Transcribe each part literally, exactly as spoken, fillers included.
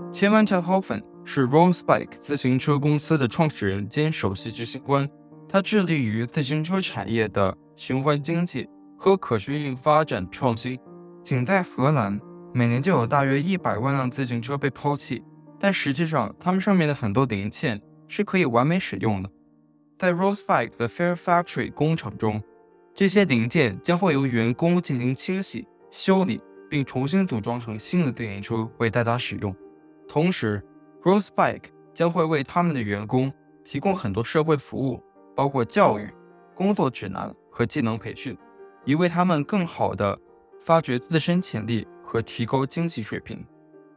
切曼特豪芬是 Rollspike 自行车公司的创始人兼首席执行官，他致力于自行车产业的循环经济和可持续发展创新。仅在荷兰，每年就有大约一百万辆自行车被抛弃，但实际上它们上面的很多零件是可以完美使用的。在 Rollspike 的 Fair Factory 工厂中，这些零件将会由员工进行清洗、修理，并重新组装成新的自行车为大家使用。同时 Rollspike 将会为他们的员工提供很多社会服务，包括教育、工作指南和技能培训，以为他们更好地发掘自身潜力和提高经济水平。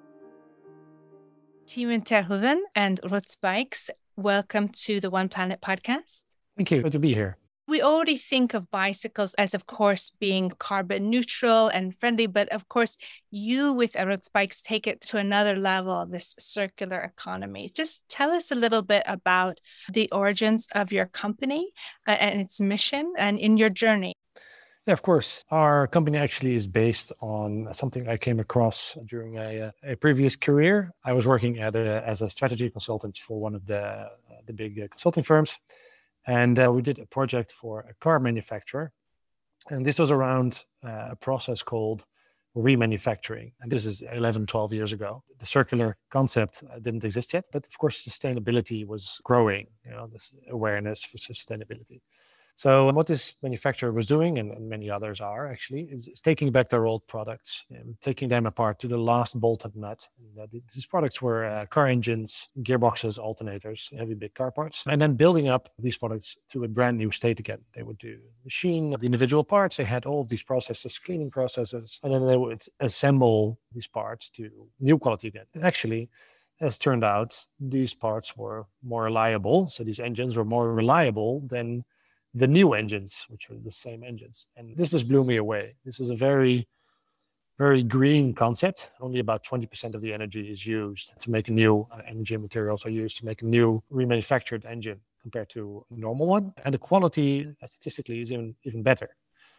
Timon Terhoeven and Rollspikes, welcome to the One Planet podcast. Thank you. Good to be here. We already think of bicycles as, of course, being carbon neutral and friendly, but of course, you with Rollspikes take it to another level, this circular economy. Just tell us a little bit about the origins of your company uh, and its mission and in your journey. Yeah, of course. Our company actually is based on something I came across during a, a previous career. I was working at a, as a strategy consultant for one of the, uh, the big uh, consulting firms. And uh, we did a project for a car manufacturer. And this was around uh, a process called remanufacturing. And this is eleven, twelve years ago. The circular concept uh, didn't exist yet, but of course, sustainability was growing, you know, this awareness for sustainability. So what this manufacturer was doing, and, and many others are actually, is, is taking back their old products and taking them apart to the last bolt and nut. And, uh, these products were uh, car engines, gearboxes, alternators, heavy big car parts, and then building up these products to a brand new state again. They would do machine the individual parts. They had all of these processes, cleaning processes, and then they would assemble these parts to new quality again. Actually, as turned out, these parts were more reliable. So these engines were more reliable than the new engines, which were the same engines. And this just blew me away. This is a very, very green concept. Only about twenty percent of the energy is used to make a new uh, energy and materials are used to make a new remanufactured engine compared to a normal one. And the quality uh, statistically is even, even better.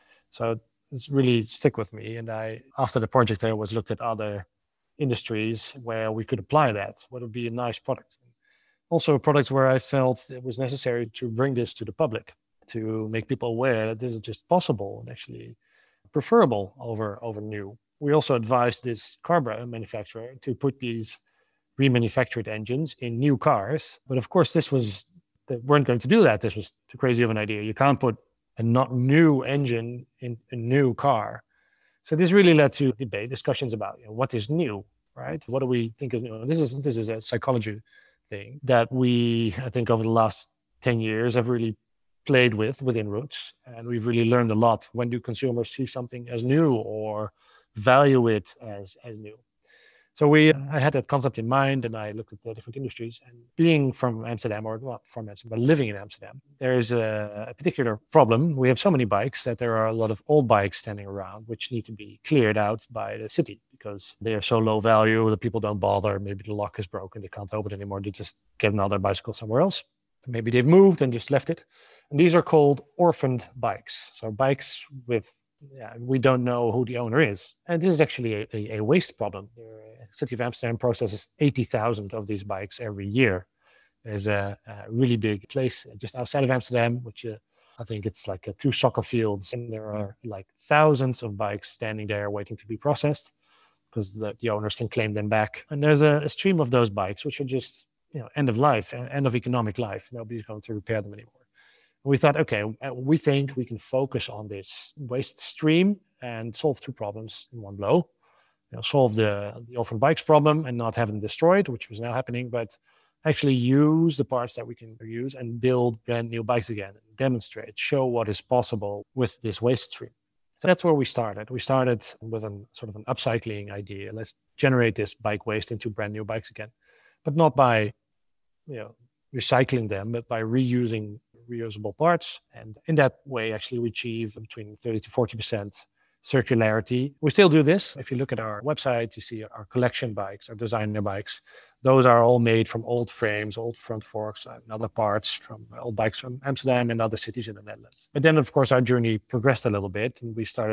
So it's really stick with me. And I, after the project, I always looked at other industries where we could apply that. What would be a nice product? Also products where I felt it was necessary to bring this to the public, to make people aware that this is just possible and actually preferable over, over new. We also advised this car manufacturer to put these remanufactured engines in new cars. But of course, this was, they weren't going to do that. This was too crazy of an idea. You can't put a not new engine in a new car. So this really led to debate, discussions about, you know, what is new, right? What do we think of new? This is, this is a psychology thing that we, I think over the last ten years have really played with within Roots. And we've really learned a lot. When do consumers see something as new or value it as, as new? So we, I had that concept in mind, and I looked at the different industries. And being from Amsterdam, or not from Amsterdam, but living in Amsterdam, there is a, a particular problem. We have so many bikes that there are a lot of old bikes standing around, which need to be cleared out by the city because they are so low value that people don't bother. Maybe the lock is broken, they can't open it anymore. They just get another bicycle somewhere else. Maybe they've moved and just left it. And these are called orphaned bikes. So bikes with, yeah, we don't know who the owner is. And this is actually a, a, a waste problem. The city of Amsterdam processes eighty thousand of these bikes every year. There's a, a really big place just outside of Amsterdam, which uh, I think it's like uh, two soccer fields. And there are like thousands of bikes standing there waiting to be processed because the, the owners can claim them back. And there's a, a stream of those bikes, which are just, you know, end of life, end of economic life. Nobody's going to repair them anymore. We thought, okay, we think we can focus on this waste stream and solve two problems in one blow. You know, solve the, the orphan bikes problem and not have them destroyed, which was now happening, but actually use the parts that we can use and build brand new bikes again, and demonstrate, show what is possible with this waste stream. So that's where we started. We started with a sort of an upcycling idea. Let's generate this bike waste into brand new bikes again, but not by, you know, recycling them, but by reusing reusable parts. And in that way, actually, we achieve between thirty to forty percent circularity. We still do this. If you look at our website, you see our collection bikes, our designer bikes. Those are all made from old frames, old front forks, and other parts from old bikes from Amsterdam and other cities in the Netherlands. But then, of course, our journey progressed a little bit, and we started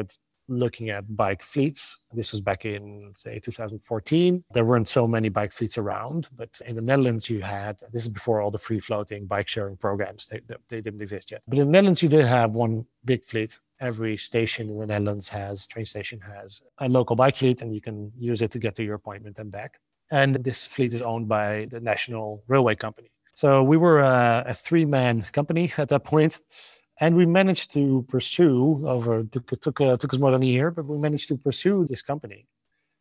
looking at bike fleets. This was back in, say, two thousand fourteen. There weren't so many bike fleets around, but in the Netherlands you had, this is before all the free-floating bike sharing programs, they, they didn't exist yet. But in the Netherlands you did have one big fleet. Every station in the Netherlands has, train station has a local bike fleet, and you can use it to get to your appointment and back. And this fleet is owned by the National Railway Company. So we were a, a three-man company at that point. And we managed to pursue over took took, uh, took us more than a year, but we managed to pursue this company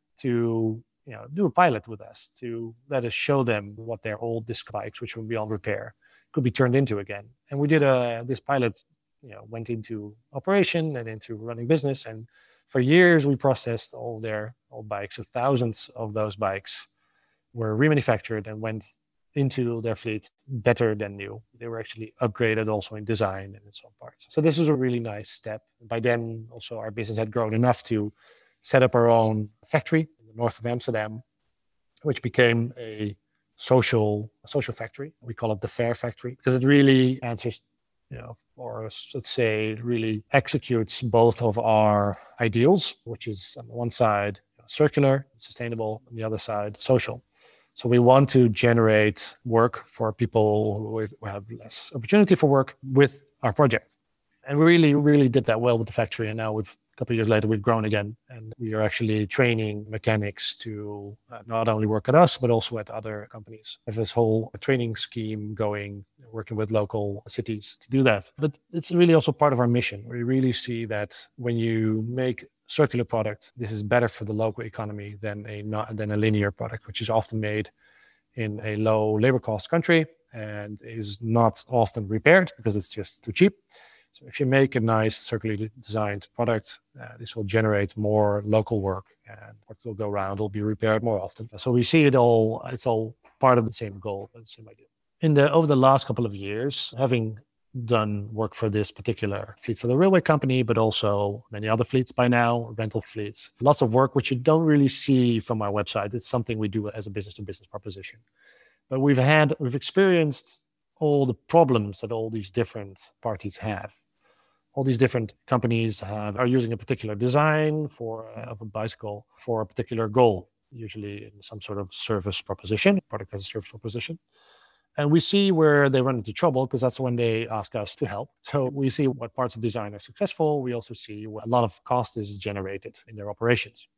to you know do a pilot with us to let us show them what their old disc bikes, which were beyond repair, could be turned into again. And we did a this pilot, you know, went into operation and into running business. And for years we processed all their old bikes. So thousands of those bikes were remanufactured and went into their fleet better than new. They were actually upgraded also in design and in some parts. So this was a really nice step. By then, also our business had grown enough to set up our own factory in the north of Amsterdam, which became a social a social factory. We call it the Fair Factory because it really answers, you know, or let's say it really executes both of our ideals, which is on the one side circular, sustainable, on the other side social. So we want to generate work for people who have less opportunity for work with our project. And we really, really did that well with the factory. And now we've, a couple of years later, we've grown again. And we are actually training mechanics to uh, not only work at us, but also at other companies. We have this whole training scheme going, working with local cities to do that. But it's really also part of our mission. We really see that when you make circular product, this is better for the local economy than a not than a linear product, which is often made in a low labor cost country and is not often repaired because it's just too cheap. So if you make a nice circularly designed product, uh, this will generate more local work, and what will go around will be repaired more often. So we see it all, it's all part of the same goal, the same idea. In the over the last couple of years, having done work for this particular fleet for the railway company, but also many other fleets by now, rental fleets. Lots of work, which you don't really see from our website. It's something we do as a business-to-business proposition. But we've had, we've experienced all the problems that all these different parties have. All these different companies have, are using a particular design for uh, of a bicycle for a particular goal, usually in some sort of service proposition, product as a service proposition. And we see where they run into trouble because that's when they ask us to help. So we see what parts of design are successful. We also see what a lot of cost is generated in their operations.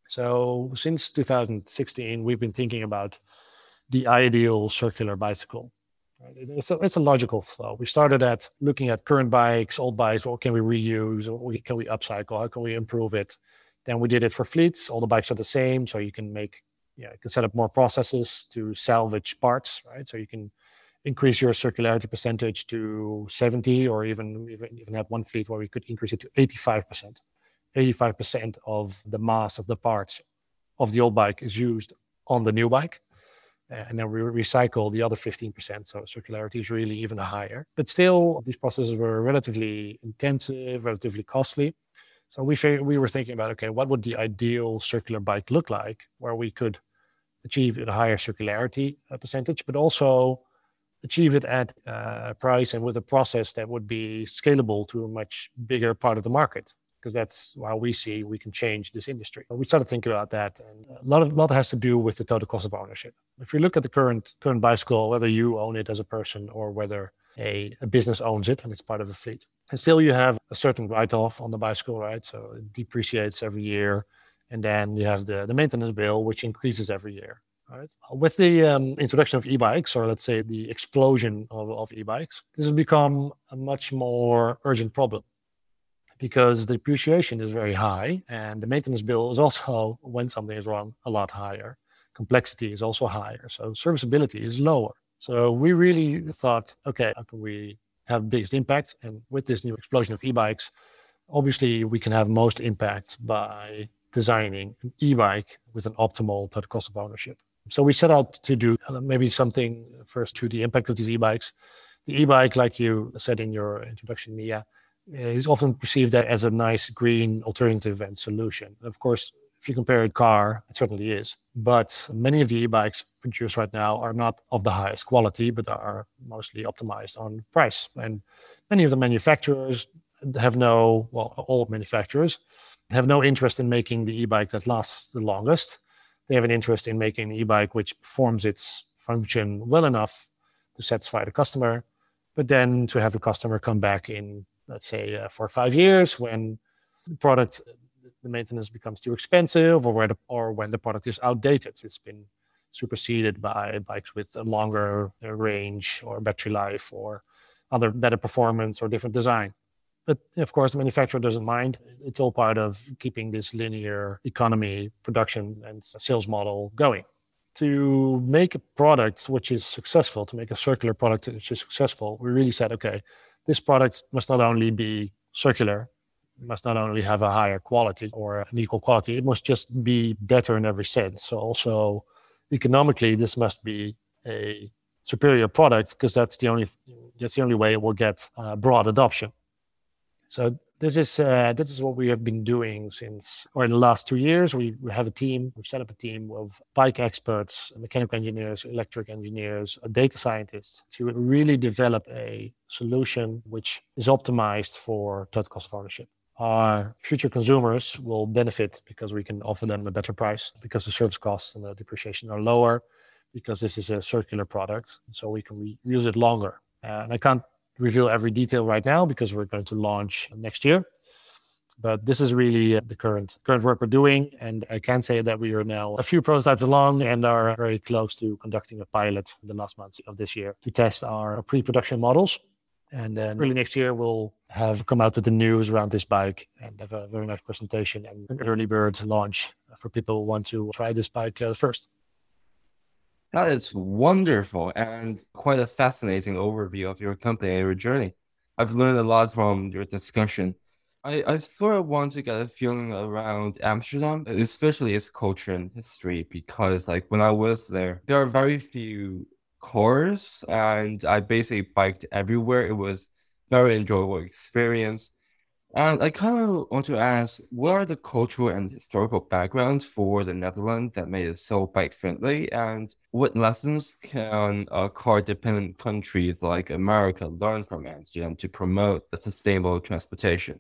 So since two thousand sixteen, we've been thinking about the ideal circular bicycle. It's a, it's a logical flow. We started at looking at current bikes, old bikes. What can we reuse? What can we upcycle? How can we improve it? Then we did it for fleets. All the bikes are the same, so you can make Yeah, you can set up more processes to salvage parts, right? So you can increase your circularity percentage to seventy, or even even, even have one fleet where we could increase it to eighty-five percent. eighty-five percent of the mass of the parts of the old bike is used on the new bike. And then we recycle the other fifteen percent. So circularity is really even higher. But still, these processes were relatively intensive, relatively costly. So we figured, we were thinking about, okay, what would the ideal circular bike look like where we could achieve a higher circularity uh, percentage, but also achieve it at uh, a price and with a process that would be scalable to a much bigger part of the market, because that's how we see we can change this industry. We started thinking about that, and a lot of lot has to do with the total cost of ownership. If you look at the current current bicycle, whether you own it as a person or whether a, a business owns it and it's part of a fleet, and still you have a certain write-off on the bicycle, right? So it depreciates every year. And then you have the, the maintenance bill, which increases every year. Right? With the um, introduction of e-bikes, or let's say the explosion of, of e-bikes, this has become a much more urgent problem because the depreciation is very high and the maintenance bill is also, when something is wrong, a lot higher. Complexity is also higher. So serviceability is lower. So we really thought, okay, how can we have the biggest impact? And with this new explosion of e-bikes, obviously we can have most impact by designing an e-bike with an optimal total cost of ownership. So we set out to do maybe something first to the impact of these e-bikes. The e-bike, like you said in your introduction, Mia, is often perceived as a nice green alternative and solution. Of course, if you compare a car, it certainly is. But many of the e-bikes produced right now are not of the highest quality, but are mostly optimized on price. And many of the manufacturers have no, well, all manufacturers have no interest in making the e-bike that lasts the longest. They have an interest in making an e-bike which performs its function well enough to satisfy the customer, but then to have the customer come back in, let's say, uh, for five years when the product, the maintenance becomes too expensive, or where the, or when the product is outdated. It's been superseded by bikes with a longer range or battery life or other better performance or different design. But of course, the manufacturer doesn't mind. It's all part of keeping this linear economy, production, and sales model going. To make a product which is successful, to make a circular product which is successful, we really said, okay, this product must not only be circular, it must not only have a higher quality or an equal quality, it must just be better in every sense. So also economically, this must be a superior product, because that's the only that's the only way it will get uh, broad adoption. So this is uh, this is what we have been doing since, or in the last two years. We, we have a team. We've set up a team of bike experts, mechanical engineers, electric engineers, data scientists to really develop a solution which is optimized for total cost of ownership. Our future consumers will benefit because we can offer them a better price, because the service costs and the depreciation are lower, because this is a circular product, so we can re- use it longer. Uh, and I can't reveal every detail right now because we're going to launch next year. But this is really the current current work we're doing. And I can say that we are now a few prototypes along and are very close to conducting a pilot in the last months of this year to test our pre-production models. And then early next year, we'll have come out with the news around this bike and have a very nice presentation and an early bird launch for people who want to try this bike uh, first. That is wonderful and quite a fascinating overview of your company and your journey. I've learned a lot from your discussion. I, I sort of want to get a feeling around Amsterdam, especially its culture and history, because like when I was there, there are very few cars and I basically biked everywhere. It was very enjoyable experience. And I kind of want to ask, what are the cultural and historical backgrounds for the Netherlands that made it so bike-friendly? And what lessons can a car-dependent countries like America learn from Amsterdam to promote a sustainable transportation?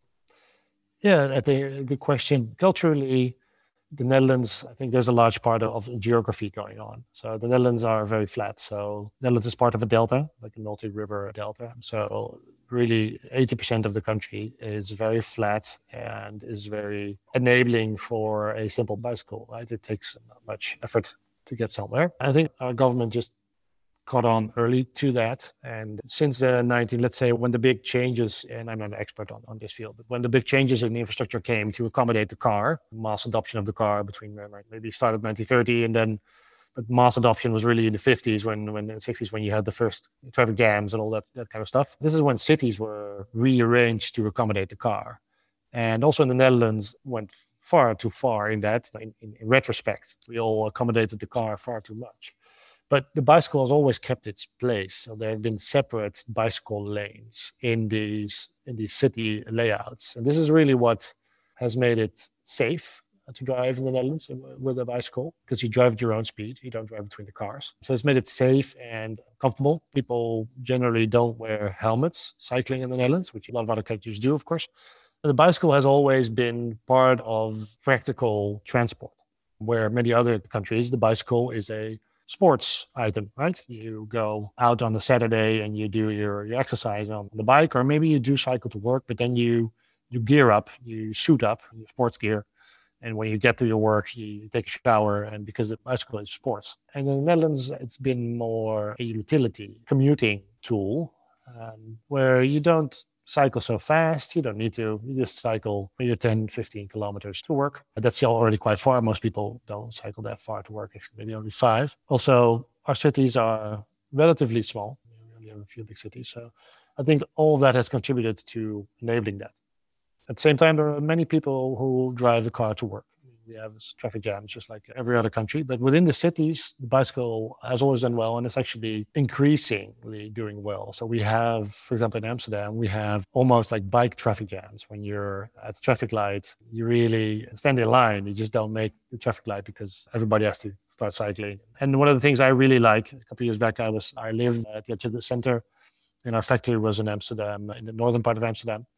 Yeah, I think a good question. Culturally, the Netherlands, I think there's a large part of geography going on. So the Netherlands are very flat. So Netherlands is part of a delta, like a multi-river delta. So really eighty percent of the country is very flat and is very enabling for a simple bicycle, right? It takes not much effort to get somewhere. I think our government just caught on early to that. And since the nineteen, let's say when the big changes, and I'm not an expert on, on this field, but when the big changes in the infrastructure came to accommodate the car, mass adoption of the car between uh, maybe started nineteen thirty and then, but mass adoption was really in the fifties, when, when in the sixties, when you had the first traffic jams and all that, that kind of stuff. This is when cities were rearranged to accommodate the car. And also in the Netherlands went far too far in that, in, in, in retrospect. We all accommodated the car far too much. But the bicycle has always kept its place. So there have been separate bicycle lanes in these in these city layouts. And this is really what has made it safe to drive in the Netherlands with a bicycle, because you drive at your own speed. You don't drive between the cars. So it's made it safe and comfortable. People generally don't wear helmets cycling in the Netherlands, which a lot of other countries do, of course. But the bicycle has always been part of practical transport, where many other countries, the bicycle is a sports item, right? You go out on a Saturday and you do your, your exercise on the bike, or maybe you do cycle to work, but then you you gear up, you suit up, your sports gear. And when you get to your work, you take a shower, and because the bicycle is sports. And in the Netherlands, it's been more a utility commuting tool, um, where you don't cycle so fast. You don't need to. You just cycle maybe ten, fifteen kilometers to work. That's already quite far. Most people don't cycle that far to work, actually, maybe only five. Also, our cities are relatively small. We only have a few big cities. So I think all of that has contributed to enabling that. At the same time, there are many people who drive the car to work. We have traffic jams just like every other country. But within the cities, the bicycle has always done well, and it's actually increasingly doing well. So we have, for example, in Amsterdam, we have almost like bike traffic jams. When you're at the traffic light, you really stand in line. You just don't make the traffic light because everybody has to start cycling. And one of the things I really like, a couple of years back, I was I lived at the center, and our factory was in Amsterdam, in the northern part of Amsterdam.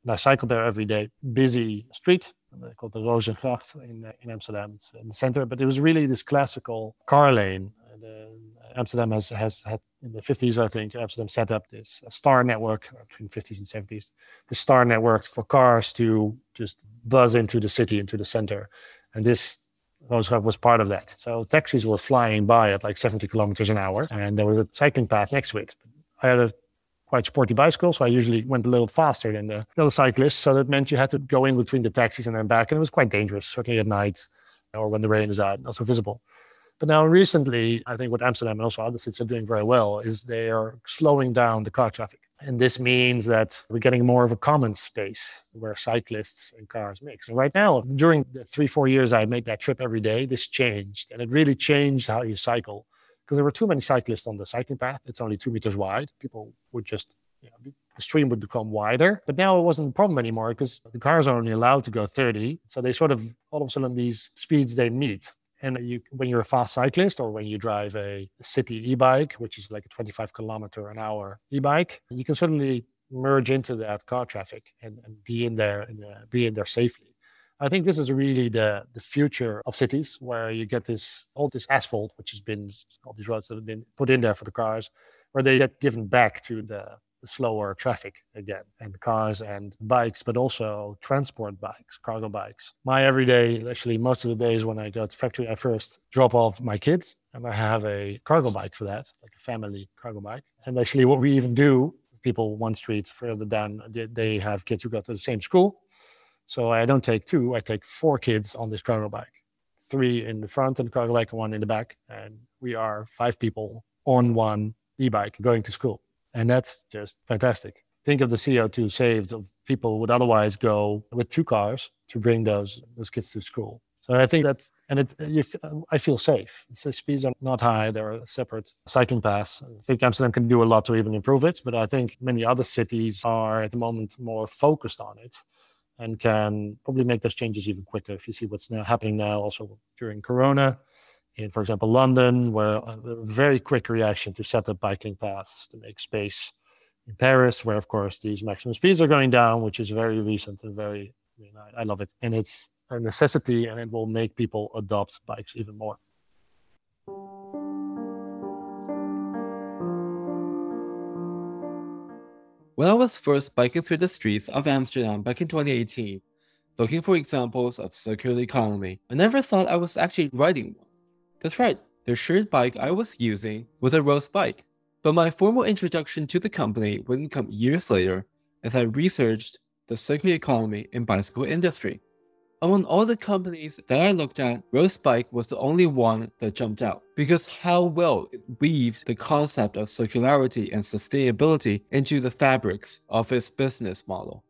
And I cycled there every day. Busy street, called the Rozengracht in, uh, in Amsterdam. It's in the center, but it was really this classical car lane. And, uh, Amsterdam has, has had, in the fifties, I think, Amsterdam set up this star network between fifties and seventies, the star network for cars to just buzz into the city, into the center. And this Rozengracht was part of that. So taxis were flying by at like seventy kilometers an hour, and there was a cycling path next to it. I had a quite sporty bicycle, so I usually went a little faster than the other cyclists. So that meant you had to go in between the taxis and then back, and it was quite dangerous, certainly at night or when the rain is out, not so visible. But now recently, I think what Amsterdam and also other cities are doing very well is they are slowing down the car traffic. And this means that we're getting more of a common space where cyclists and cars mix. And right now, during the three, four years I made that trip every day, this changed. And it really changed how you cycle. Because there were too many cyclists on the cycling path. It's only two meters wide. People would just, you know, the stream would become wider. But now it wasn't a problem anymore because the cars are only allowed to go thirty. So they sort of, all of a sudden, these speeds they meet. And you, when you're a fast cyclist or when you drive a city e-bike, which is like a twenty-five kilometer an hour e-bike, you can certainly merge into that car traffic and, and be in there and uh, be in there safely. I think this is really the, the future of cities, where you get this all this asphalt, which has been all these roads that have been put in there for the cars, where they get given back to the, the slower traffic again, and cars and bikes, but also transport bikes, cargo bikes. My everyday, actually most of the days when I go to factory, I first drop off my kids, and I have a cargo bike for that, like a family cargo bike. And actually, what we even do, people one street further down, they, they have kids who go to the same school. So I don't take two, I take four kids on this cargo bike. Three in the front and the cargo bike and one in the back. And we are five people on one e-bike going to school. And that's just fantastic. Think of the C O two saved of people would otherwise go with two cars to bring those those kids to school. So I think that's, and it, you, I feel safe. The speeds are not high. There are separate cycling paths. I think Amsterdam can do a lot to even improve it, but I think many other cities are at the moment more focused on it and can probably make those changes even quicker. If you see what's now happening now, also during Corona, in, for example, London, where a very quick reaction to set up biking paths to make space. In Paris, where, of course, these maximum speeds are going down, which is very recent and very, I mean, I, I love it. And it's a necessity, and it will make people adopt bikes even more. When I was first biking through the streets of Amsterdam back in twenty eighteen, looking for examples of circular economy, I never thought I was actually riding one. That's right, the shared bike I was using was a Rose bike. But my formal introduction to the company wouldn't come years later as I researched the circular economy in bicycle industry. Among all the companies that I looked at, Rose Bike was the only one that jumped out because how well it weaved the concept of circularity and sustainability into the fabrics of its business model.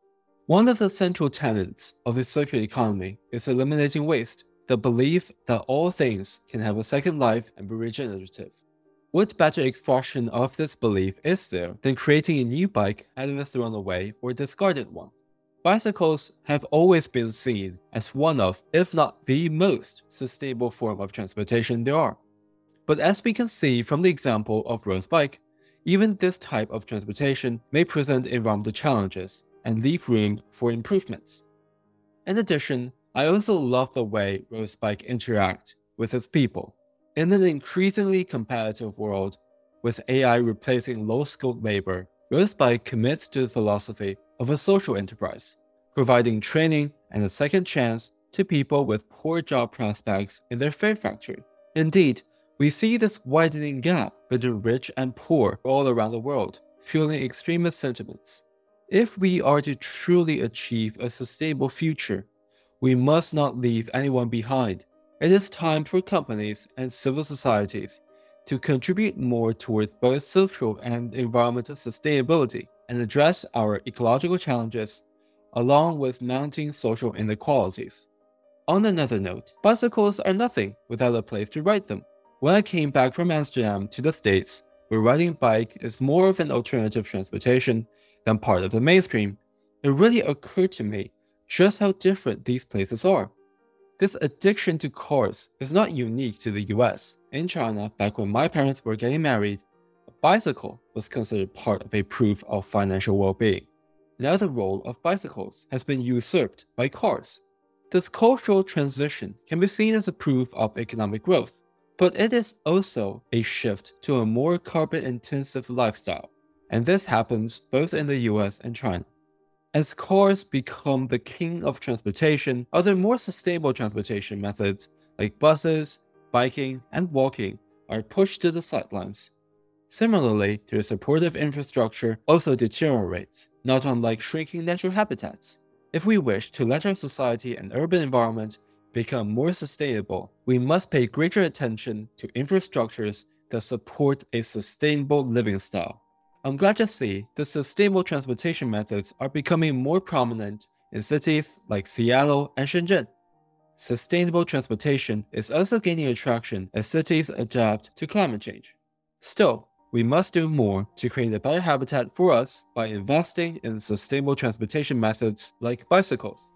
One of the central tenets of its circular economy is eliminating waste, the belief that all things can have a second life and be regenerative. What better expression of this belief is there than creating a new bike out of a thrown away or discarded one? Bicycles have always been seen as one of, if not the most, sustainable form of transportation there are. But as we can see from the example of Rose Bike, even this type of transportation may present environmental challenges and leave room for improvements. In addition, I also love the way Rose Bike interact with its people. In an increasingly competitive world, with A I replacing low-skilled labor, Rose Bike commits to the philosophy of a social enterprise, providing training and a second chance to people with poor job prospects in their Fear Factory. Indeed, we see this widening gap between rich and poor all around the world, fueling extremist sentiments. If we are to truly achieve a sustainable future, we must not leave anyone behind. It is time for companies and civil societies to contribute more towards both social and environmental sustainability and address our ecological challenges along with mounting social inequalities. On another note, bicycles are nothing without a place to ride them. When I came back from Amsterdam to the States, where riding a bike is more of an alternative transportation than part of the mainstream, it really occurred to me just how different these places are. This addiction to cars is not unique to the U S. In China, back when my parents were getting married, a bicycle was considered part of a proof of financial well-being. Now the role of bicycles has been usurped by cars. This cultural transition can be seen as a proof of economic growth, but it is also a shift to a more carbon-intensive lifestyle, and this happens both in the U S and China. As cars become the king of transportation, other more sustainable transportation methods like buses, biking, and walking are pushed to the sidelines. Similarly, their supportive infrastructure also deteriorates, not unlike shrinking natural habitats. If we wish to let our society and urban environment become more sustainable, we must pay greater attention to infrastructures that support a sustainable living style. I'm glad to see the sustainable transportation methods are becoming more prominent in cities like Seattle and Shenzhen. Sustainable transportation is also gaining attraction as cities adapt to climate change. Still, we must do more to create a better habitat for us by investing in sustainable transportation methods like bicycles.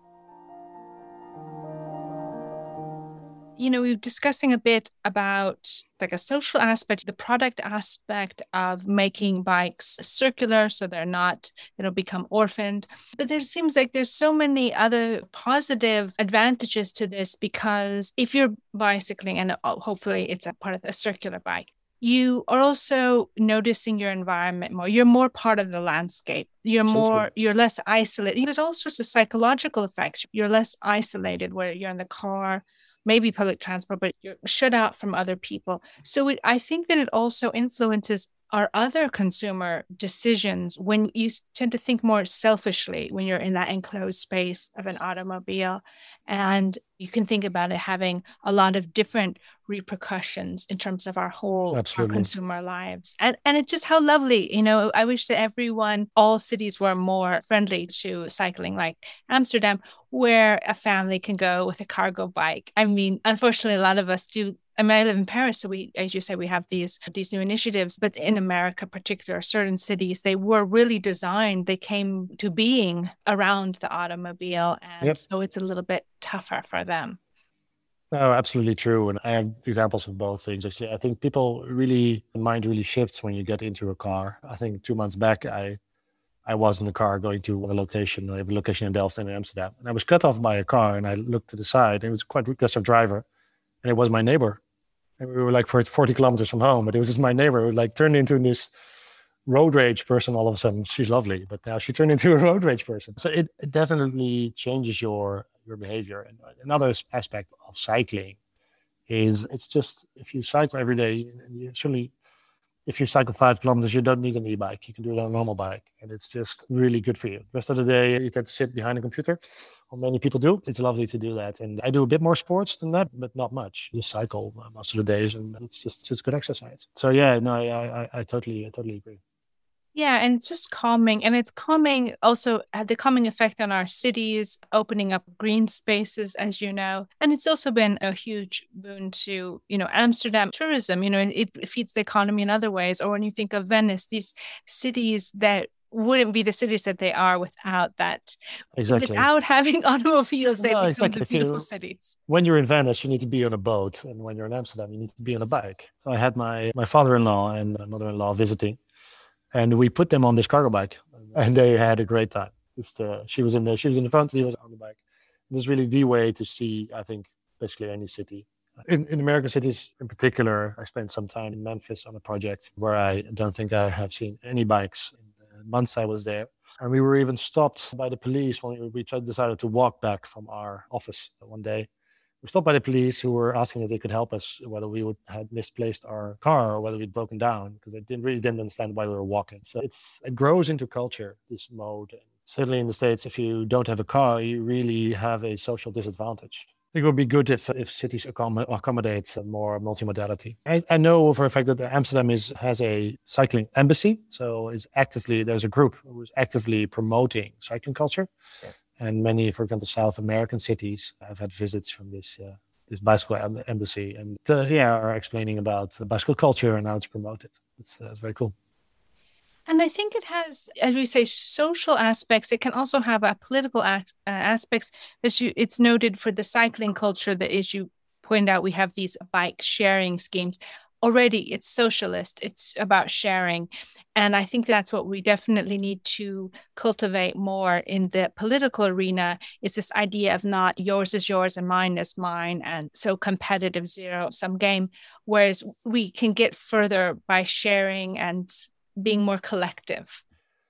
You know, we were discussing a bit about like a social aspect, the product aspect of making bikes circular so they're not, they don't become orphaned. But there seems like there's so many other positive advantages to this, because if you're bicycling, and hopefully it's a part of a circular bike, you are also noticing your environment more. You're more part of the landscape. You're more, so you're less isolated. There's all sorts of psychological effects. You're less isolated where you're in the car, maybe public transport, but you're shut out from other people. So it, I think that it also influences our other consumer decisions when you tend to think more selfishly when you're in that enclosed space of an automobile. And you can think about it having a lot of different repercussions in terms of our whole our consumer lives. And and it's just how lovely, you know, I wish that everyone, all cities were more friendly to cycling, like Amsterdam, where a family can go with a cargo bike. I mean, unfortunately, a lot of us do. I mean, I live in Paris, so we, as you say, we have these these new initiatives. But in America, particular certain cities, they were really designed. They came to being around the automobile, and yep. so it's a little bit tougher for them. No, absolutely true. And I have examples of both things. Actually, I think people really, mind really shifts when you get into a car. I think two months back, I I was in a car going to a location. I have a location in Delft and in Amsterdam, and I was cut off by a car. And I looked to the side. And it was quite a aggressive driver, and it was my neighbor. And we were like for forty kilometers from home, but it was just my neighbor who like turned into this road rage person all of a sudden. She's lovely, but now she turned into a road rage person. So it, it definitely changes your your behavior. And another aspect of cycling is it's just, if you cycle every day, and you certainly, if you cycle five kilometers, you don't need an e-bike. You can do it on a normal bike. And it's just really good for you. The rest of the day, you tend to sit behind a computer. Or many people do. It's lovely to do that. And I do a bit more sports than that, but not much. Just cycle most of the days, and it's just, just good exercise. So yeah, no, I, I, I totally, I totally agree. Yeah, and it's just calming. And it's calming also, had the calming effect on our cities, opening up green spaces, as you know. And it's also been a huge boon to, you know, Amsterdam tourism. You know, it, it feeds the economy in other ways. Or when you think of Venice, these cities that wouldn't be the cities that they are without that. Exactly. Without having automobiles, they no, become exactly. the beautiful you, cities. When you're in Venice, you need to be on a boat. And when you're in Amsterdam, you need to be on a bike. So I had my, my father-in-law and my mother-in-law visiting. And we put them on this cargo bike, and they had a great time. Just, uh, she was in the she was in the front, he was on the bike. This is really the way to see, I think, basically any city. In, in American cities in particular, I spent some time in Memphis on a project where I don't think I have seen any bikes in the months I was there. And we were even stopped by the police when we, we tried, decided to walk back from our office one day. We were stopped by the police who were asking if they could help us, whether we would had misplaced our car or whether we'd broken down, because they didn't really didn't understand why we were walking. So it's it grows into culture, this mode. And certainly in the States, if you don't have a car, you really have a social disadvantage. I think it would be good if if cities accom- accommodate more multimodality. I, I know for a fact that Amsterdam is has a cycling embassy, so is actively there's a group who is actively promoting cycling culture. Yeah. And many, for example, South American cities have had visits from this uh, this bicycle embassy, and uh, yeah, are explaining about the bicycle culture and how it's promoted. It's, uh, it's very cool. And I think it has, as we say, social aspects. It can also have a political act, uh, aspects. As you, it's noted for the cycling culture that, as you point out, we have these bike sharing schemes. already it's socialist, it's about sharing. And I think that's what we definitely need to cultivate more in the political arena, is this idea of not yours is yours and mine is mine, and so competitive zero-sum game, whereas we can get further by sharing and being more collective.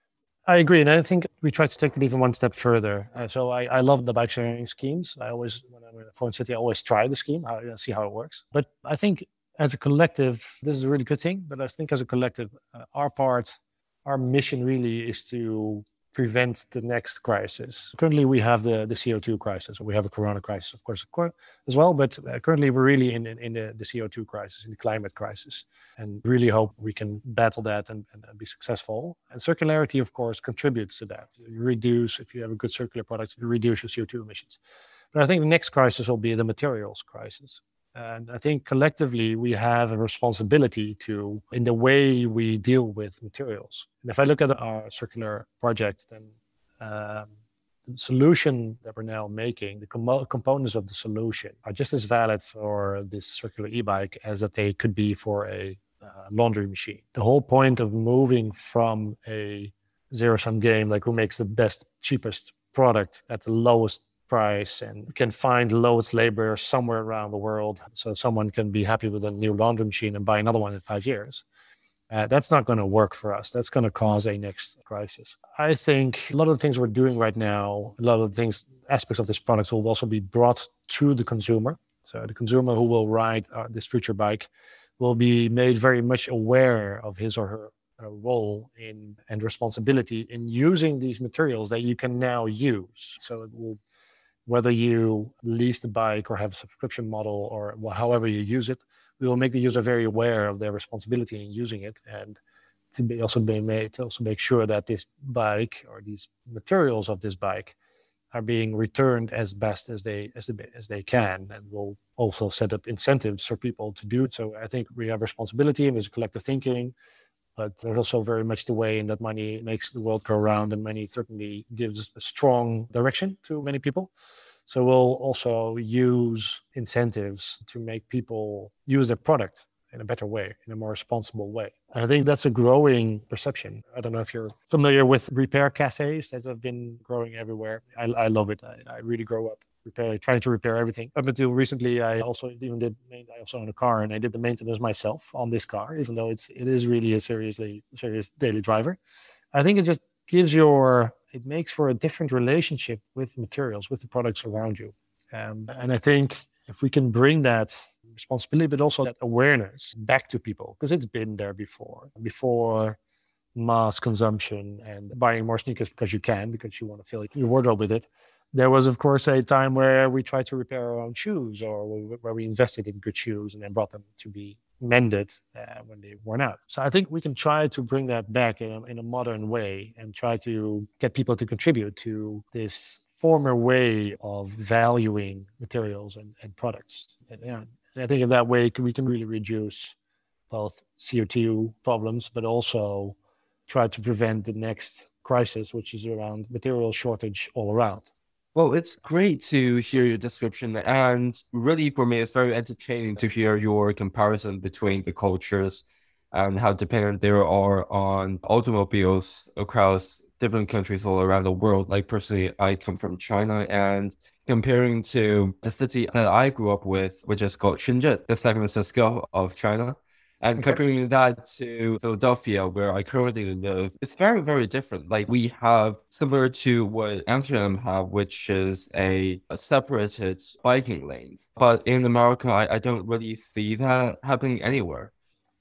I agree. And I think we try to take it even one step further. Uh, so I, I love the bike sharing schemes. I always, when I'm in a foreign city, I always try the scheme, how, you know, see how it works. But I think as a collective, this is a really good thing. But I think as a collective, uh, our part, our mission really is to prevent the next crisis. Currently, we have the, the C O two crisis. We have a corona crisis, of course, of course as well. But uh, currently, we're really in, in, in the, the C O two crisis, in the climate crisis, and really hope we can battle that and, and, and be successful. And circularity, of course, contributes to that. You reduce, if you have a good circular product, you reduce your C O two emissions. But I think the next crisis will be the materials crisis. And I think collectively we have a responsibility to, in the way we deal with materials. And if I look at our circular project, then um, the solution that we're now making, the com- components of the solution are just as valid for this circular e-bike as that they could be for a uh, laundry machine. The whole point of moving from a zero-sum game, like who makes the best, cheapest product at the lowest price and can find lowest labor somewhere around the world, so someone can be happy with a new laundry machine and buy another one in five years. Uh, that's not going to work for us. That's going to cause a next crisis. I think a lot of the things we're doing right now, a lot of the things, aspects of this product will also be brought to the consumer. So the consumer who will ride uh, this future bike will be made very much aware of his or her uh, role in and responsibility in using these materials that you can now use. So it will, whether you lease the bike or have a subscription model or however you use it, we will make the user very aware of their responsibility in using it, and to be also be made to also make sure that this bike or these materials of this bike are being returned as best as they as they, as they can, and we'll also set up incentives for people to do it. So I think we have responsibility and there's collective thinking, but there's also very much the way in that money makes the world go around, and money certainly gives a strong direction to many people. So we'll also use incentives to make people use their product in a better way, in a more responsible way. I think that's a growing perception. I don't know if you're familiar with repair cafes that have been growing everywhere. I, I love it. I, I really grow up repair, trying to repair everything. Up until recently, I also even did, I also own a car, and I did the maintenance myself on this car, even though it's, it is really a seriously, serious daily driver. I think it just gives your, it makes for a different relationship with materials, with the products around you. Um, and I think if we can bring that responsibility, but also that awareness back to people, because it's been there before, before mass consumption and buying more sneakers because you can, because you want to fill your wardrobe with it. There was, of course, a time where we tried to repair our own shoes, or where we invested in good shoes and then brought them to be mended uh, when they worn out. So I think we can try to bring that back in a, in a modern way and try to get people to contribute to this former way of valuing materials and, and products. And, yeah, and I think in that way we can really reduce both C O two problems, but also try to prevent the next crisis, which is around material shortage all around. Well, it's great to hear your description, and really for me, it's very entertaining to hear your comparison between the cultures and how dependent they are on automobiles across different countries all around the world. Like personally, I come from China, and comparing to the city that I grew up with, which is called Shenzhen, the San Francisco of China, and Okay. comparing that to Philadelphia, where I currently live, it's very, very different. Like we have, similar to what Amsterdam have, which is a, a separated biking lanes. But in America, I, I don't really see that happening anywhere.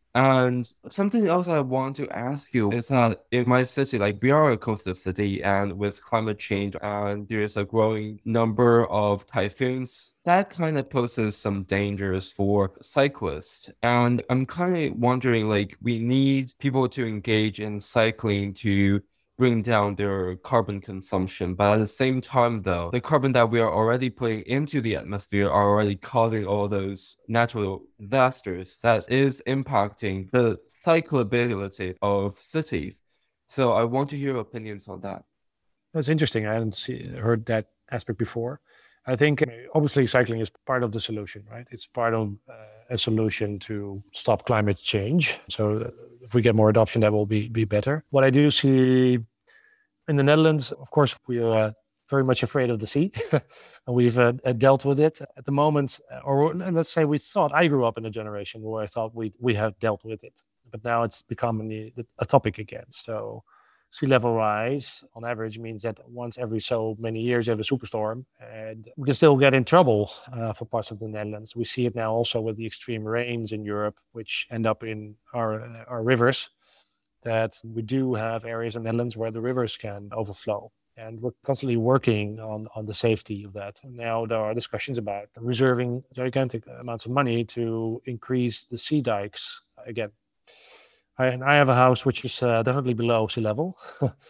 And something else I want to ask you is that in my city, like we are a coastal city, and with climate change and there's a growing number of typhoons, that kind of poses some dangers for cyclists. And I'm kind of wondering, like, we need people to engage in cycling to bring down their carbon consumption. But at the same time, though, the carbon that we are already putting into the atmosphere are already causing all those natural disasters that is impacting the cyclability of cities. So I want to hear your opinions on that. That's interesting. I hadn't see, heard that aspect before. I think uh, obviously cycling is part of the solution, right? It's part of uh, a solution to stop climate change. So if we get more adoption, that will be, be better. What I do see in the Netherlands, of course, we are uh, very much afraid of the sea. And we've uh, dealt with it at the moment, or let's say we thought, I grew up in a generation where I thought we we have dealt with it. But now it's becoming a topic again. So sea level rise on average means that once every so many years you have a superstorm, and we can still get in trouble uh, for parts of the Netherlands. We see it now also with the extreme rains in Europe, which end up in our uh, our rivers, that we do have areas in the Netherlands where the rivers can overflow. And we're constantly working on, on the safety of that. Now there are discussions about reserving gigantic amounts of money to increase the sea dikes again. I, and I have a house which is uh, definitely below sea level.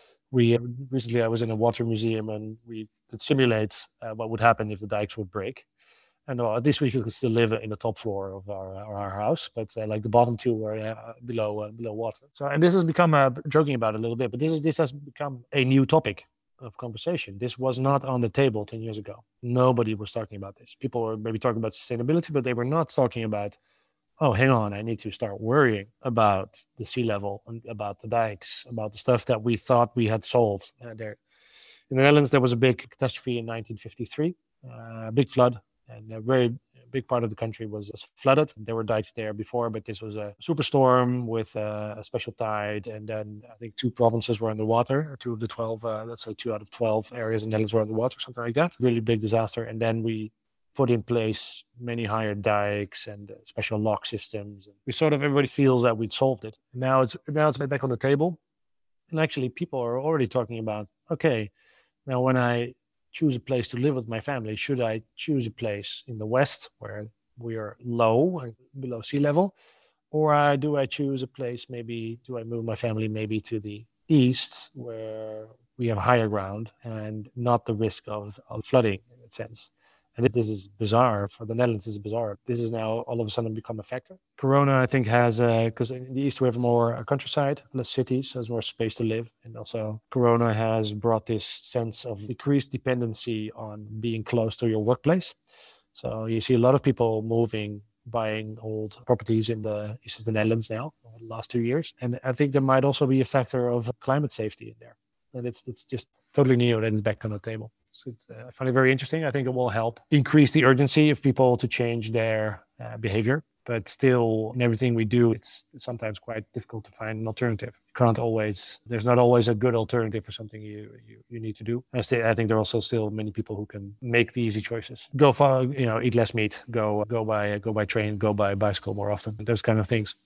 we recently I was in a water museum and we could simulate uh, what would happen if the dikes would break. And uh, at least we could still live in the top floor of our, our house, but uh, like the bottom two were uh, below uh, below water. So, and this has become uh, joking about it a little bit, but this is this has become a new topic of conversation. This was not on the table ten years ago. Nobody was talking about this. People were maybe talking about sustainability, but they were not talking about, oh, hang on, I need to start worrying about the sea level and about the dikes, about the stuff that we thought we had solved. Uh, there, in the Netherlands, there was a big catastrophe in nineteen fifty-three, uh, a big flood. And a very big part of the country was flooded. There were dikes there before, but this was a superstorm with a, a special tide. And then I think two provinces were underwater, or two of the twelve, uh, let's say two out of twelve areas in the Netherlands were underwater, something like that. Really big disaster. And then we put in place many higher dikes and uh, special lock systems. We sort of, everybody feels that we'd solved it. Now it's, now it's back on the table. And actually people are already talking about, okay, now when I choose a place to live with my family, should I choose a place in the west where we are low, below sea level, or uh, do I choose a place, maybe do I move my family maybe to the east where we have higher ground and not the risk of, of flooding in a sense. And this is bizarre. For the Netherlands, this is bizarre. This is now all of a sudden become a factor. Corona, I think, has, because uh, in the east we have more countryside, less cities, so there's more space to live. And also Corona has brought this sense of decreased dependency on being close to your workplace. So you see a lot of people moving, buying old properties in the east of the Netherlands now, over the last two years. And I think there might also be a factor of climate safety in there. And it's it's just totally new and it's back on the table. So it's, uh, I find it very interesting. I think it will help increase the urgency of people to change their uh, behavior. But still, in everything we do, it's sometimes quite difficult to find an alternative. You can't always, there's not always a good alternative for something you you, you need to do. I, say, I think there are also still many people who can make the easy choices. Go far, you know, eat less meat, go go by go by train, go by bicycle more often, those kind of things.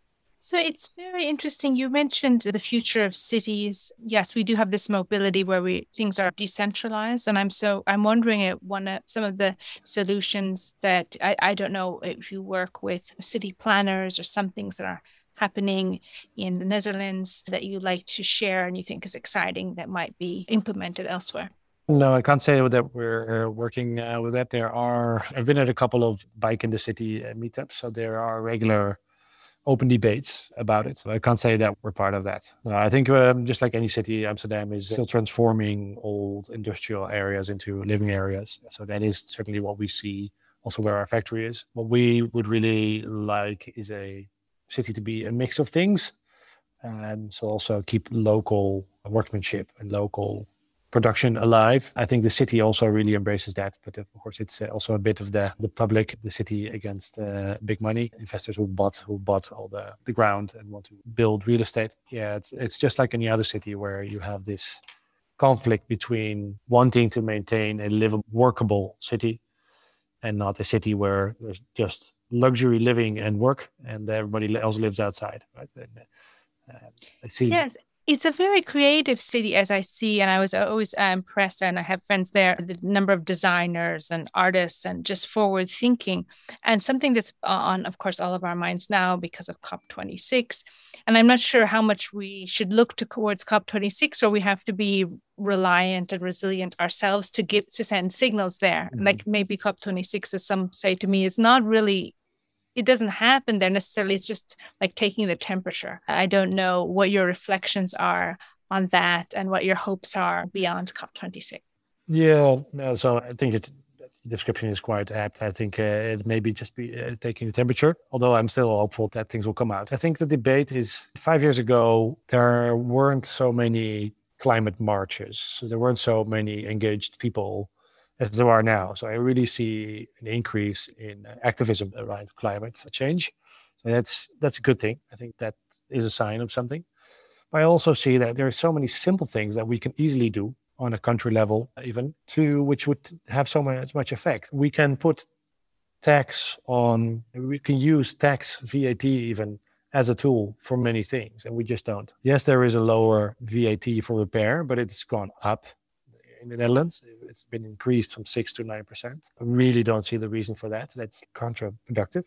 So it's very interesting. You mentioned the future of cities. Yes, we do have this mobility where we things are decentralized. And I'm so I'm wondering at one of some of the solutions that I, I don't know if you work with city planners or some things that are happening in the Netherlands that you like to share and you think is exciting that might be implemented elsewhere. No, I can't say that we're uh, working uh, with that. There are, I've been at a couple of bike in the city uh, meetups, so there are regular open debates about it. So I can't say that we're part of that. No, I think um, just like any city, Amsterdam is still transforming old industrial areas into living areas. So that is certainly what we see also where our factory is. What we would really like is a city to be a mix of things. And so also keep local workmanship and local production alive. I think the city also really embraces that, but of course it's also a bit of the the public, the city against uh, big money investors who bought who bought all the the ground and want to build real estate. Yeah, it's it's just like any other city where you have this conflict between wanting to maintain a livable, workable city, and not a city where there's just luxury living and work, and everybody else lives outside. Right? And, uh, I see. Yes. It's a very creative city, as I see, and I was always uh, impressed, and I have friends there, the number of designers and artists and just forward thinking, and something that's on, of course, all of our minds now because of COP twenty-six. And I'm not sure how much we should look to, towards COP twenty-six, or we have to be reliant and resilient ourselves to give to send signals there. Mm-hmm. Like maybe COP twenty-six, as some say to me, is not really, it doesn't happen there necessarily. It's just like taking the temperature. I don't know what your reflections are on that and what your hopes are beyond COP twenty-six. Yeah, no, so I think it's description is quite apt. I think uh, it may be just be uh, taking the temperature, although I'm still hopeful that things will come out. I think the debate is five years ago, there weren't so many climate marches. So there weren't so many engaged people as there are now. So I really see an increase in activism around climate change. So that's that's a good thing. I think that is a sign of something. But I also see that there are so many simple things that we can easily do on a country level, even to which would have so much, much effect. We can put tax on, we can use tax, V A T even, as a tool for many things, and we just don't. Yes, there is a lower V A T for repair, but it's gone up in the Netherlands. It's been increased from six to nine percent. I really don't see the reason for that. That's counterproductive.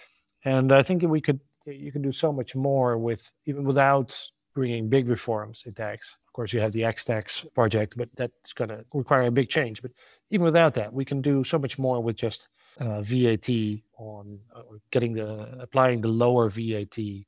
And I think we could, you can do so much more with, even without bringing big reforms in tax. Of course, you have the X-Tax project, but that's going to require a big change. But even without that, we can do so much more with just uh, V A T on uh, getting the, applying the lower V A T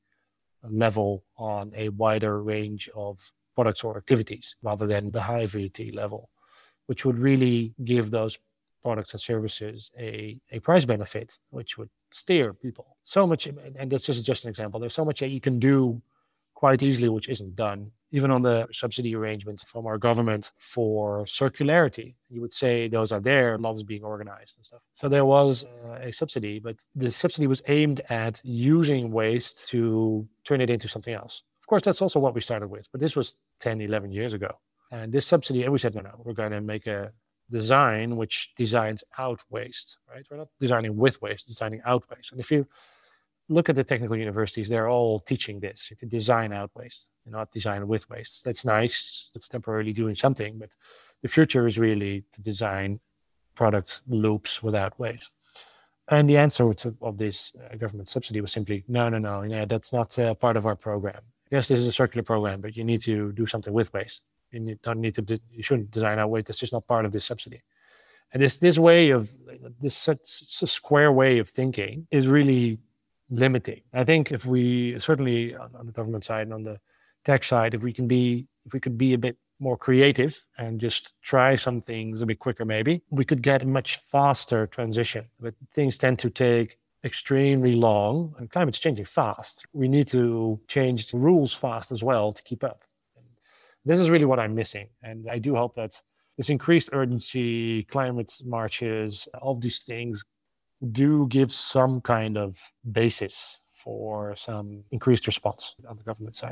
level on a wider range of products or activities rather than the high V A T level, which would really give those products and services a, a price benefit, which would steer people. So much, and this is just an example, there's so much that you can do quite easily, which isn't done. Even on the subsidy arrangements from our government for circularity, you would say those are there, lots being organized and stuff. So there was uh, a subsidy, but the subsidy was aimed at using waste to turn it into something else. Of course, that's also what we started with, but this was ten, eleven years ago. And this subsidy, and we said, no, no, we're going to make a design which designs out waste, right? We're not designing with waste, designing out waste. And if you look at the technical universities, they're all teaching this, to design out waste, not design with waste. That's nice. It's temporarily doing something, but the future is really to design product loops without waste. And the answer to, of this uh, government subsidy was simply, no, no, no, yeah, that's not uh, part of our program. Yes, this is a circular program, but you need to do something with waste. You need, don't need to, you shouldn't design out waste. That's just not part of this subsidy. And this this way of, this such, such square way of thinking is really limiting. I think if we, certainly on, on the government side and on the tech side, if we can be, if we could be a bit more creative and just try some things a bit quicker, maybe we could get a much faster transition. But things tend to take extremely long, and climate's changing fast. We need to change the rules fast as well to keep up. And this is really what I'm missing. And I do hope that this increased urgency, climate marches, all these things do give some kind of basis for some increased response on the government side.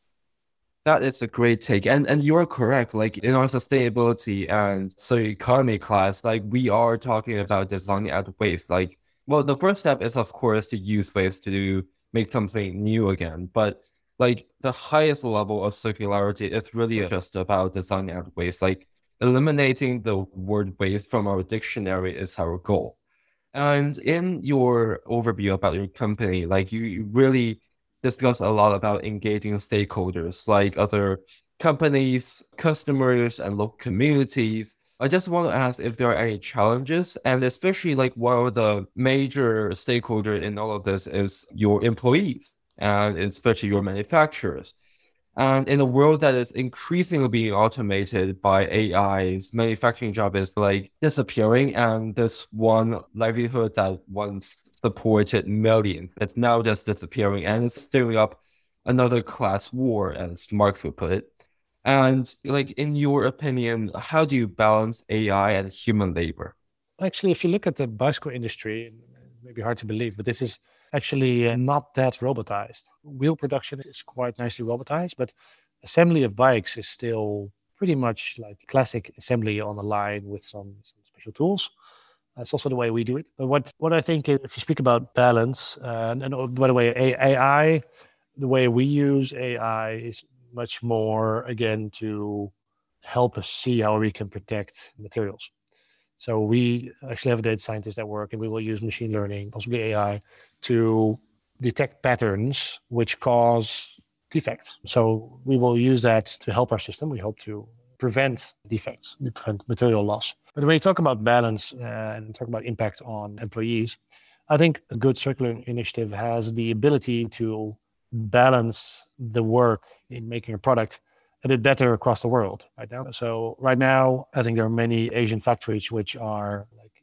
That is a great take. And and you're correct. Like in our sustainability and so economy class, like we are talking about designing out waste. Like, well, the first step is of course to use waste to do, make something new again. But like the highest level of circularity is really just about designing out waste. Like eliminating the word waste from our dictionary is our goal. And in your overview about your company, like you, you really discuss a lot about engaging stakeholders like other companies, customers, and local communities. I just want to ask if there are any challenges, and especially like one of the major stakeholders in all of this is your employees, and especially your manufacturers. And in a world that is increasingly being automated by A Is, manufacturing job is like disappearing. And this one livelihood that once supported millions, it's now just disappearing, and it's stirring up another class war, as Marx would put it. And like, in your opinion, how do you balance A I and human labor? Actually, if you look at the bicycle industry, it may be hard to believe, but this is actually not that robotized. Wheel production is quite nicely robotized, but assembly of bikes is still pretty much like classic assembly on a line with some, some special tools. That's also the way we do it. But what, what I think, if you speak about balance, uh, and, and by the way, A I, the way we use A I is much more, again, to help us see how we can protect materials. So we actually have a data scientist that work, and we will use machine learning, possibly A I, to detect patterns which cause defects. So we will use that to help our system. We hope to prevent defects, prevent material loss. But when you talk about balance uh, and talk about impact on employees, I think a good circular initiative has the ability to balance the work in making a product a bit better across the world right now. So right now, I think there are many Asian factories which are like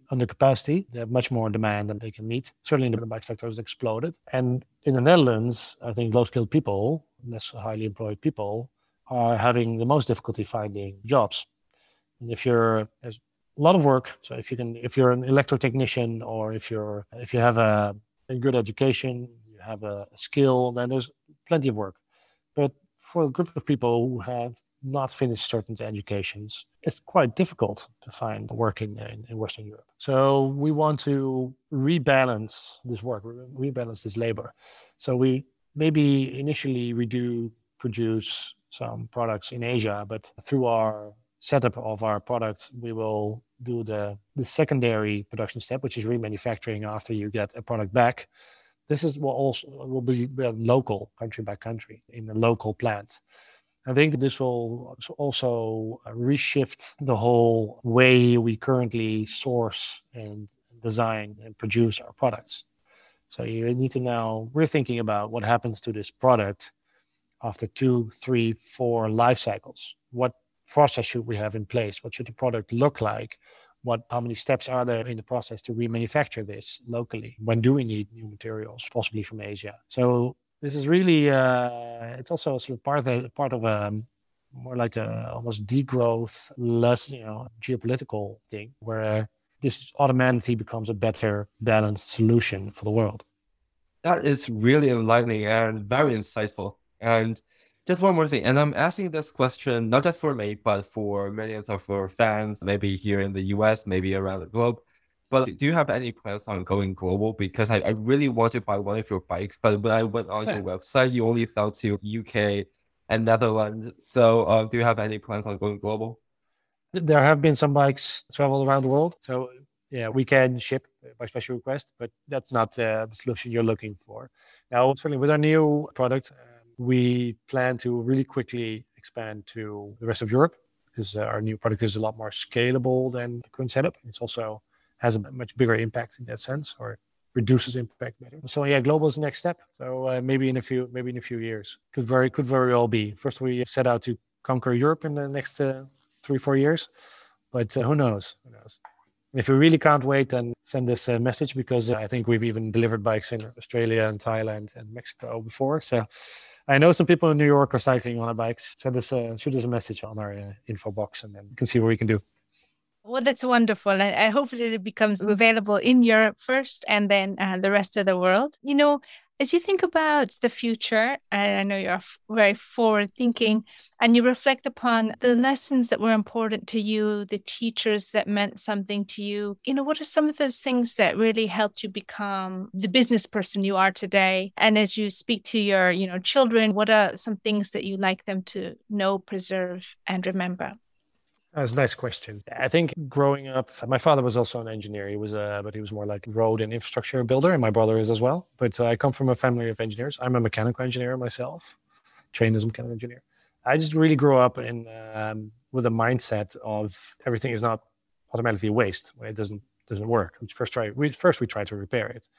under capacity. They have much more demand than they can meet. Certainly the bike sector has exploded. And in the Netherlands, I think low-skilled people, less highly employed people, are having the most difficulty finding jobs. And if you're, there's a lot of work. So if you can, if you're an electrotechnician, or if you're, if you have a, a good education, you have a, a skill, then there's plenty of work. But for a group of people who have not finished certain educations, it's quite difficult to find work in, in, in Western Europe. So we want to rebalance this work, rebalance this labor. So we maybe initially we do produce some products in Asia, but through our setup of our products, we will do the, the secondary production step, which is remanufacturing after you get a product back. This is will also will be local, country by country, in a local plant. I think this will also reshift the whole way we currently source and design and produce our products. So you need to now, we're thinking about what happens to this product after two, three, four life cycles. What process should we have in place? What should the product look like? What, how many steps are there in the process to remanufacture this locally? When do we need new materials, possibly from Asia? So this is really, uh, it's also sort of part of, the, part of a more like a almost degrowth, less, you know, geopolitical thing, where this automatically becomes a better balanced solution for the world. That is really enlightening and very insightful. And just one more thing, and I'm asking this question not just for me, but for millions of our fans, maybe here in the U S, maybe around the globe. But do you have any plans on going global? Because I, I really want to buy one of your bikes, but when I went on your website, you only sell to U K and Netherlands. So uh, do you have any plans on going global? There have been some bikes travel around the world. So yeah, we can ship by special request, but that's not uh, the solution you're looking for. Now, certainly with our new product, uh, we plan to really quickly expand to the rest of Europe, because uh, our new product is a lot more scalable than the current setup. It's also has a much bigger impact in that sense, or reduces impact better. So yeah, global is the next step. So uh, maybe in a few, maybe in a few years, could very, could very well be. First, we set out to conquer Europe in the next uh, three, four years, but uh, who knows? Who knows? If you really can't wait, then send us a message, because I think we've even delivered bikes in Australia and Thailand and Mexico before. So I know some people in New York are cycling on our bikes. Send us a, shoot us a message on our uh, info box, and then we can see what we can do. Well, that's wonderful. And I hope that it becomes available in Europe first, and then uh, the rest of the world. You know, as you think about the future, and I know you're very forward thinking, and you reflect upon the lessons that were important to you, the teachers that meant something to you, you know, what are some of those things that really helped you become the business person you are today? And as you speak to your, you know, children, what are some things that you like them to know, preserve, and remember? That's a nice question. I think growing up, my father was also an engineer. He was, a, but he was more like road and infrastructure builder, and my brother is as well. But uh, I come from a family of engineers. I'm a mechanical engineer myself, trained as a mechanical engineer. I just really grew up in um, with a mindset of everything is not automatically waste when it doesn't doesn't work. We first try we first we try to repair it.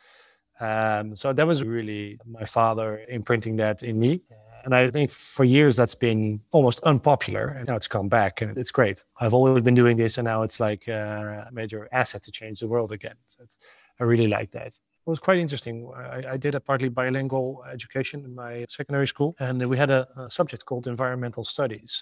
Um, so that was really my father imprinting that in me. And I think for years that's been almost unpopular, and now it's come back, and it's great. I've always been doing this, and now it's like a major asset to change the world again. So it's, I really like that. It was quite interesting. I, I did a partly bilingual education in my secondary school, and we had a, a subject called environmental studies.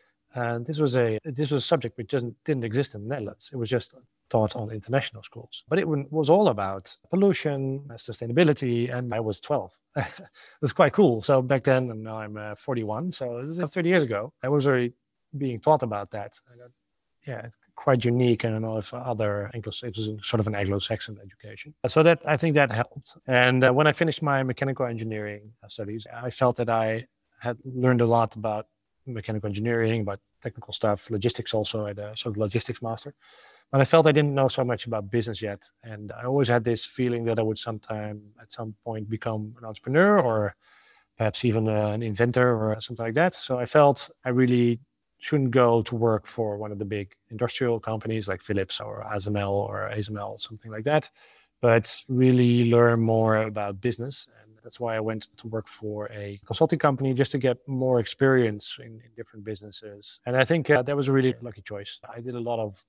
And this was a this was a subject which doesn't didn't exist in the Netherlands. It was just taught on international schools. But it was all about pollution, sustainability, and I was twelve. It was quite cool. So back then, and now I'm uh, forty-one, so this is thirty years ago, I was already being taught about that. And, uh, yeah, it's quite unique. I don't know if other Anglo, it was sort of an Anglo-Saxon education. So that I think that helped. And uh, when I finished my mechanical engineering studies, I felt that I had learned a lot about mechanical engineering, about technical stuff, logistics also. I had a sort of logistics master. But I felt I didn't know so much about business yet. And I always had this feeling that I would sometime, at some point, become an entrepreneur, or perhaps even uh, an inventor or something like that. So I felt I really shouldn't go to work for one of the big industrial companies like Philips or A S M L or A S M L, something like that, but really learn more about business. And that's why I went to work for a consulting company, just to get more experience in, in different businesses. And I think uh, that was a really lucky choice. I did a lot of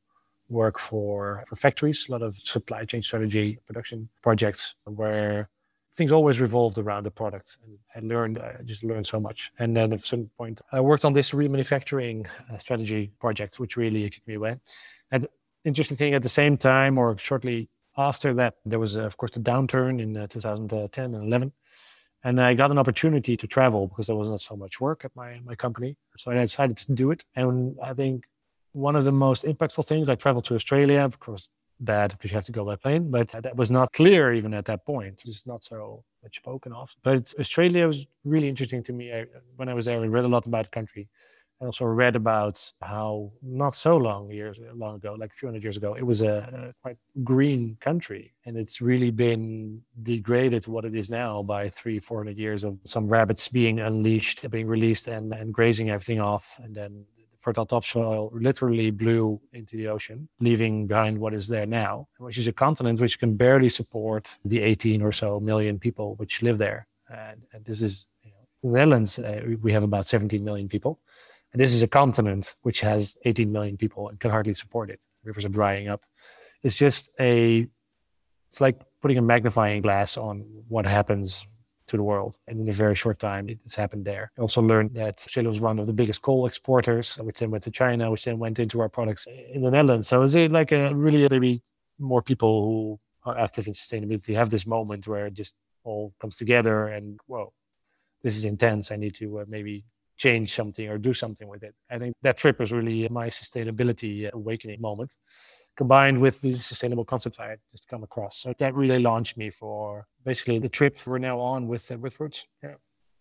work for, for factories, a lot of supply chain strategy, production projects where things always revolved around the product. And I learned, I just learned so much. And then at some point, I worked on this remanufacturing uh, strategy project, which really kicked me away. And interesting thing, at the same time, or shortly after that, there was, uh, of course, the downturn in uh, two thousand ten and eleven. And I got an opportunity to travel because there was not so much work at my, my company. So I decided to do it. And I think one of the most impactful things, I traveled to Australia, of course, bad because you have to go by plane, but that was not clear even at that point. It's not so much spoken of. But Australia was really interesting to me. I, when I was there, I read a lot about the country. I also read about how not so long years long ago, like a few hundred years ago, it was a, a quite green country, and it's really been degraded to what it is now by three, four hundred years of some rabbits being unleashed, being released, and, and grazing everything off, and then fertile topsoil literally blew into the ocean, leaving behind what is there now, which is a continent which can barely support the eighteen or so million people which live there. And, and this is, you know, in the Netherlands, uh, we have about seventeen million people. And this is a continent which has eighteen million people and can hardly support it. Rivers are drying up. It's just a, it's like putting a magnifying glass on what happens to the world. And in a very short time, it's happened there. I also learned that Australia was one of the biggest coal exporters, which then went to China, which then went into our products in the Netherlands. So it's like a really, maybe more people who are active in sustainability have this moment where it just all comes together and, whoa, this is intense. I need to uh, maybe change something or do something with it. I think that trip was really my sustainability awakening moment, combined with the sustainable concepts I had just come across. So that really launched me for basically the trip we're now on with uh, with Roots. Yeah.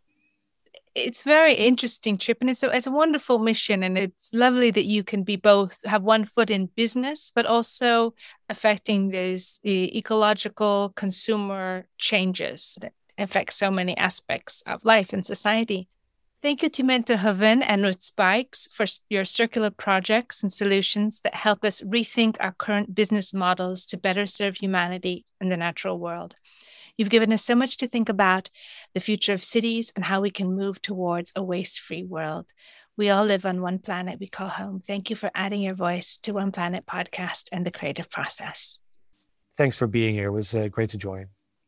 It's a very interesting trip, and it's a, it's a wonderful mission, and it's lovely that you can be both, have one foot in business, but also affecting these uh, ecological consumer changes that affect so many aspects of life and society. Thank you to Mentor Hoven and Roots Spikes for your circular projects and solutions that help us rethink our current business models to better serve humanity and the natural world. You've given us so much to think about, the future of cities and how we can move towards a waste-free world. We all live on one planet we call home. Thank you for adding your voice to One Planet Podcast and the creative process. Thanks for being here. It was uh, great to join.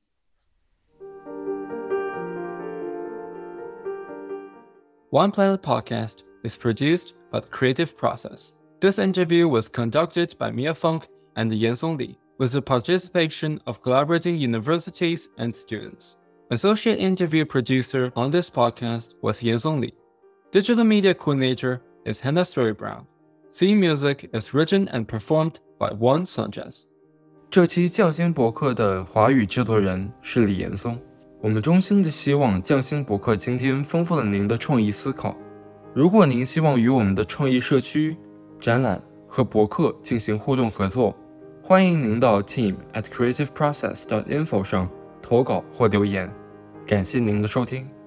One Planet Podcast is produced by The Creative Process. This interview was conducted by Mia Funk and Yansong Li, with the participation of collaborating universities and students. Associate interview producer on this podcast was Yansong Li. Digital media coordinator is Hannah Story-Brown. Theme music is written and performed by Juan Sanchez. 这期匠心博客的华语制作人是李岩松。我们衷心的希望匠心博客今天丰富了您的创意思考。如果您希望与我们的创意社区、展览和博客进行互动合作，欢迎您到 team at creative process dot info 上投稿或留言。感谢您的收听。